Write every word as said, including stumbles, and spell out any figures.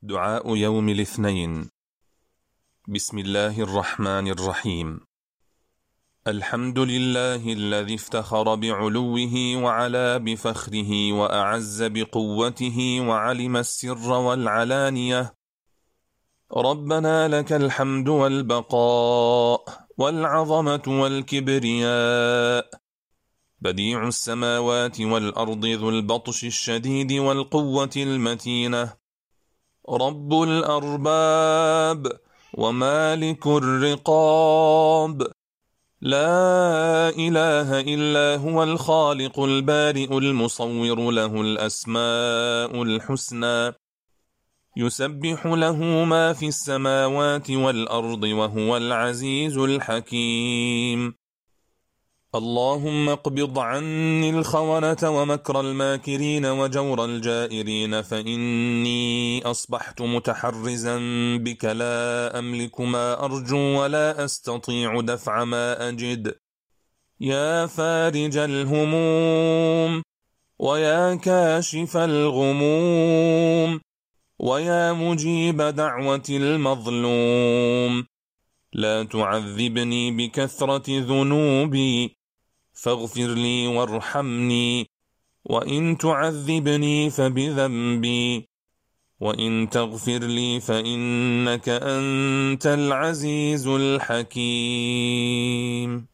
دعاء يوم الاثنين. بسم الله الرحمن الرحيم. الحمد لله الذي افتخر بعلوه وعلا بفخره وأعز بقوته وعلم السر والعلانية. ربنا لك الحمد والبقاء والعظمة والكبرياء، بديع السماوات والأرض ذو البطش الشديد والقوة المتينة، رب الأرباب ومالك الرقاب، لا إله إلا هو الخالق البارئ المصور، له الأسماء الحسنى، يسبح له ما في السماوات والأرض وهو العزيز الحكيم. اللهم اقبض عني الخونة ومكر الماكرين وجور الجائرين، فإني أصبحت متحرزا بك، لا أملك ما أرجو ولا أستطيع دفع ما أجد. يا فارج الهموم ويا كاشف الغموم ويا مجيب دعوة المظلوم، لا تعذبني بكثرة ذنوبي، فاغفر لي وارحمني، وإن تعذبني فبذنبي، وإن تغفر لي فإنك أنت العزيز الحكيم.